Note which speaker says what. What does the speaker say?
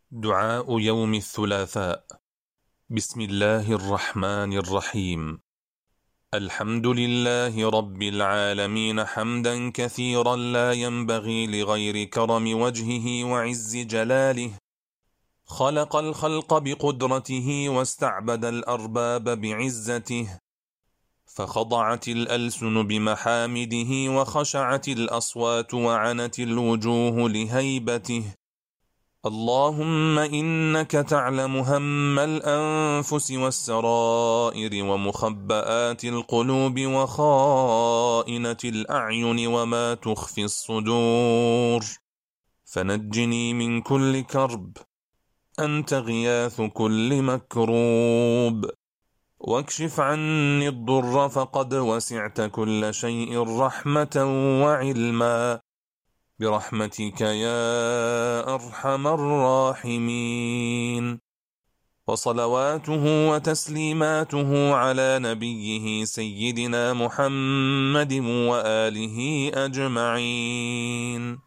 Speaker 1: دعاء يوم الثلاثاء. بسم الله الرحمن الرحيم. الحمد لله رب العالمين حمدا كثيرا لا ينبغي لغير كرم وجهه وعز جلاله. خلق الخلق بقدرته واستعبد الأرباب بعزته، فخضعت الألسن بمحامده وخشعت الأصوات وعنت الوجوه لهيبته. اللهم إنك تعلم هم الأنفس والسرائر ومخبآت القلوب وخائنة الأعين وما تخفي الصدور، فنجني من كل كرب، أنت غياث كل مكروب، واكشف عني الضر فقد وسعت كل شيء رحمة وعلما، برحمتك يا أرحم الراحمين. وصلواته وتسليماته على نبيه سيدنا محمد وآله أجمعين.